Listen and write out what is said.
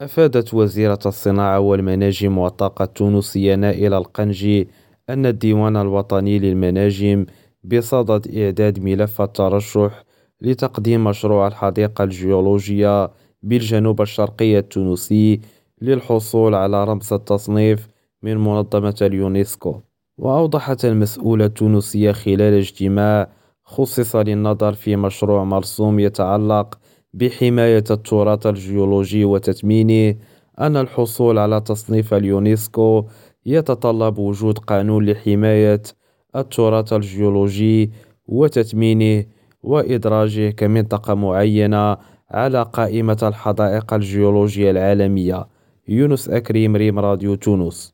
أفادت وزيرة الصناعة والمناجم والطاقة التونسية نائلة القنجي أن الديوان الوطني للمناجم بصدد إعداد ملف الترشح لتقديم مشروع الحديقة الجيولوجية بالجنوب الشرقي التونسي للحصول على رمز التصنيف من منظمة اليونسكو. وأوضحت المسؤولة التونسية خلال اجتماع خصص للنظر في مشروع مرسوم يتعلق بحماية التراث الجيولوجي وتثمينه أن الحصول على تصنيف اليونسكو يتطلب وجود قانون لحماية التراث الجيولوجي وتثمينه وإدراجه كمنطقة معينة على قائمة الحدائق الجيولوجية العالمية. يونس أكريم، ريم راديو تونس.